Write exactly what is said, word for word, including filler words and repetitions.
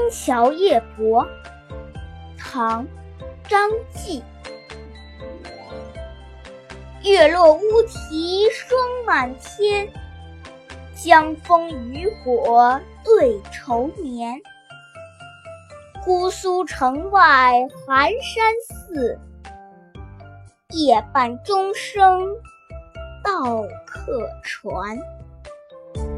桥夜泊》唐·张继。月落乌啼霜满天，江枫渔火对愁眠。姑苏城外寒山寺，夜半钟声到客船。